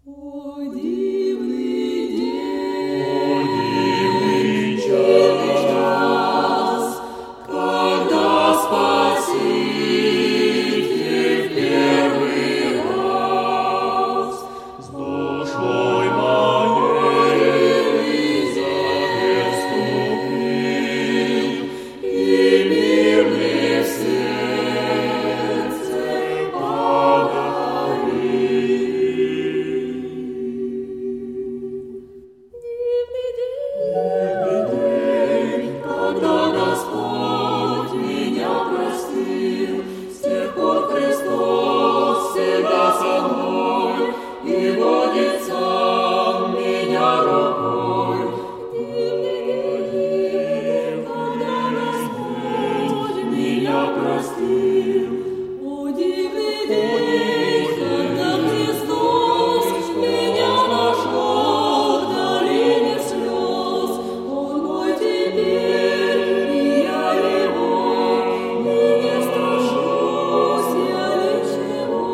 О, дивный день, О, дивный час, когда Спаситель в первый раз с душой моей завет вступил, и мир мне в сердце подарил. Дивный день, когда Господь меня простил, с тех пор Христос всегда со мной и водит сам меня рукой. Дивный день, когда Господь меня простил. О, дивный день, когда Христос меня нашел в долине слез. Он мой теперь, и я его, и не страшусь я ничего.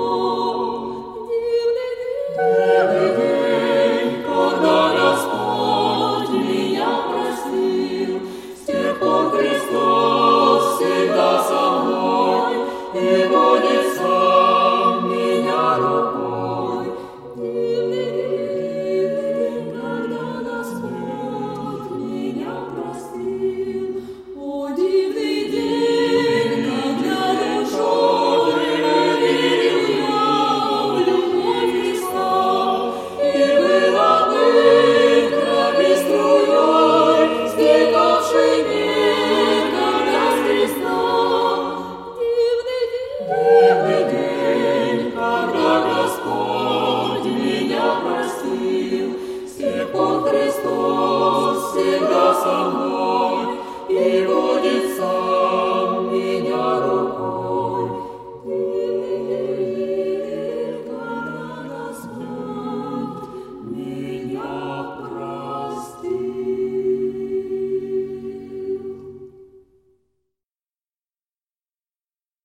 Дивный день, когда Господь меня простил, с тех пор Христос всегда со мной и водит сам меня рукой. Дивный день, когда Господь меня простил. О, дивный день, когда душой поверил я в любовь Христа, и была крови струей, стекавшей некогда с креста. Дивный день, когда Господь меня простил, с тех пор Христос всегда со мной